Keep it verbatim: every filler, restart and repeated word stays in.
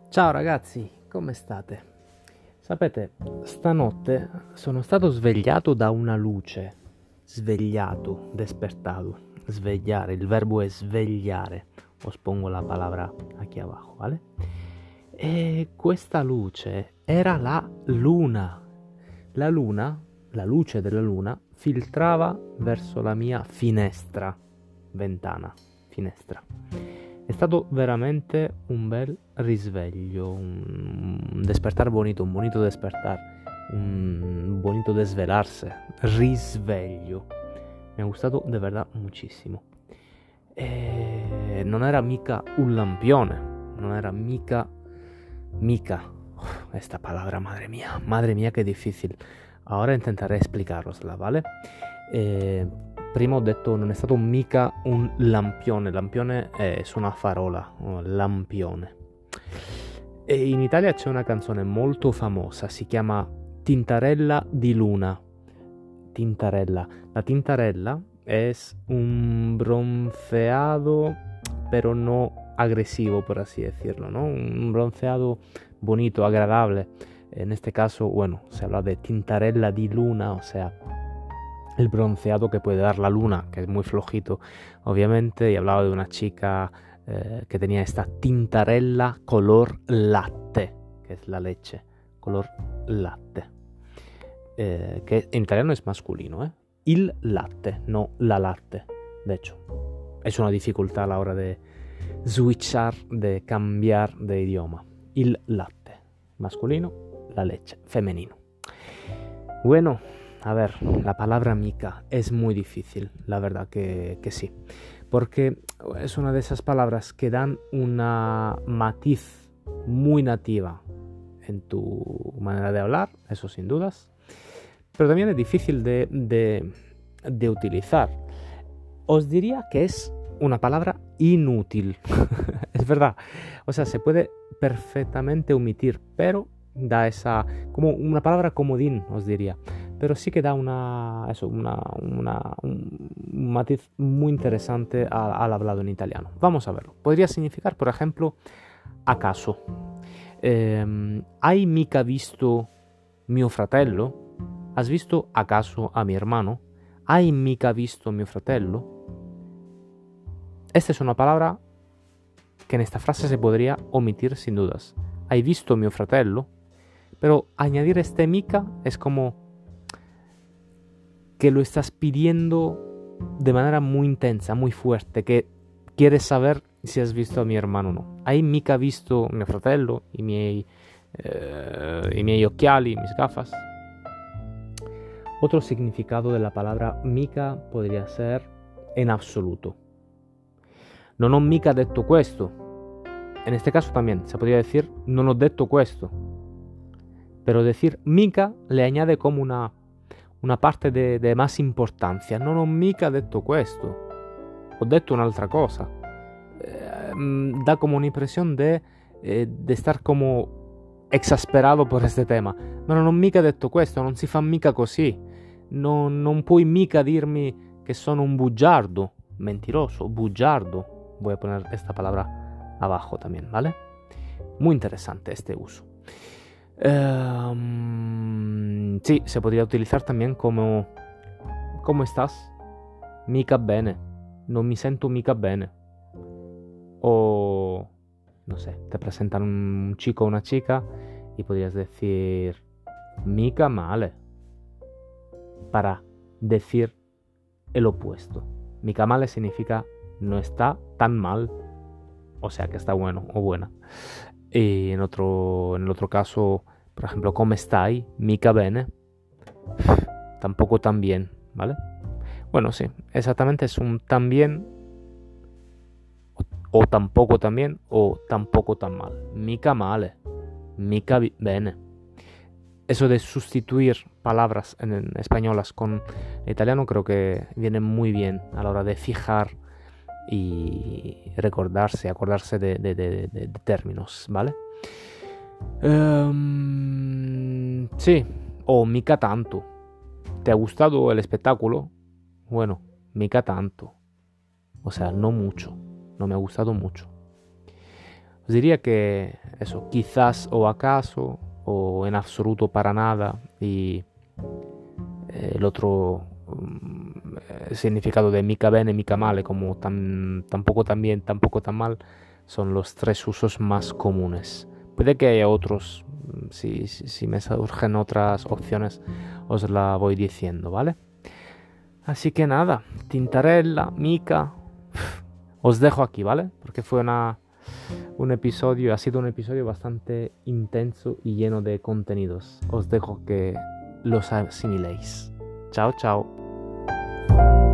Ciao ragazzi, come state? Sapete, stanotte sono stato svegliato da una luce. Svegliato, despertado. Svegliare, il verbo è svegliare. Os pongo la palabra aquí abajo, ¿vale? E questa luce era la luna. La luna, la luce della luna, filtrava verso la mia finestra. Ventana, finestra. È stato veramente un bel risveglio, un despertar bonito, un bonito despertar, un bonito desvelarse, risveglio. Mi ha gustato de verdad muchísimo. E non era mica un lampione, non era mica, mica, uf, esta palabra, madre mía, madre mía, qué difícil. Ahora intentaré explicarosla, ¿vale? Eh, Prima ho detto non è stato mica un lampione, lampione è su una farola, oh, lampione. E in Italia c'è una canzone molto famosa, si chiama Tintarella di Luna. Tintarella. La tintarella es un bronceado, pero no agresivo, por así decirlo, ¿no? Un bronceado bonito, agradable. En este caso, bueno, se habla de tintarella di luna, o sea, el bronceado que puede dar la luna, que es muy flojito, obviamente, y hablaba de una chica eh, que tenía esta tintarella color latte, que es la leche, color latte, eh, que en italiano es masculino, ¿eh? Il latte, no la latte, de hecho. Es una dificultad a la hora de switchar, de cambiar de idioma. Il latte, masculino, la leche, femenino. Bueno, a ver, la palabra mica es muy difícil, la verdad que, que sí, porque es una de esas palabras que dan una matiz muy nativa en tu manera de hablar, eso sin dudas, pero también es difícil de, de, de utilizar. Os diría que es una palabra inútil, es verdad, o sea, se puede perfectamente omitir, pero da esa, como una palabra comodín, os diría. Pero sí que da una, eso, una, una, un matiz muy interesante al, al hablado en italiano. Vamos a verlo. Podría significar, por ejemplo, acaso. Eh, ¿Hai mica visto mio fratello? ¿Has visto acaso a mi hermano? ¿Hai mica visto mio fratello? Esta es una palabra que en esta frase se podría omitir sin dudas. ¿Hai visto mio fratello? Pero añadir este mica es como que lo estás pidiendo de manera muy intensa, muy fuerte, que quieres saber si has visto a mi hermano o no. Hai mica visto mio fratello, i miei, eh, i miei occhiali, mis gafas. Otro significado de la palabra mica podría ser en absoluto. Non ho mica detto questo. En este caso también se podría decir non ho detto questo. Pero decir mica le añade como una una parte de, de más importanza. Non ho mica detto questo, ho detto un'altra cosa. Eh, da como una impresión de, eh, de estar como exasperado por este tema. Ma non ho mica detto questo, non si fa mica così. Non, non puoi mica dirmi che sono un bugiardo, mentiroso, bugiardo. Voy a poner esta palabra abajo también, ¿vale? Muy interesante este uso. Um, sí, se podría utilizar también como ¿cómo estás? Mica bene. Non mi sento mica bene. O no sé, te presentan un chico o una chica y podrías decir mica male para decir el opuesto. Mica male significa no está tan mal, o sea que está bueno o buena. Y en otro, en el otro caso, por ejemplo, ¿come stai? Mica bene. Tampoco tan bien, ¿vale? Bueno, sí, exactamente es un tan bien o, o tampoco tan bien o tampoco tan mal. Mica male, mica bene. Eso de sustituir palabras en, en españolas con italiano creo que viene muy bien a la hora de fijar y recordarse, acordarse de, de, de, de, de términos, ¿vale? Um, sí, o mica tanto. ¿Te ha gustado el espectáculo? Bueno, mica tanto. O sea, no mucho. No me ha gustado mucho. Os diría que eso, quizás o acaso, o en absoluto para nada, y el otro um, significado de mica bene, mica male, como tan, tampoco tan bien, tampoco tan mal, son los tres usos más comunes. Puede que haya otros, si, si, si me surgen otras opciones, os la voy diciendo, ¿vale? Así que nada, tintarella, mica, os dejo aquí, ¿vale? Porque fue una, un episodio, ha sido un episodio bastante intenso y lleno de contenidos. Os dejo que los asimiléis. Chao, chao.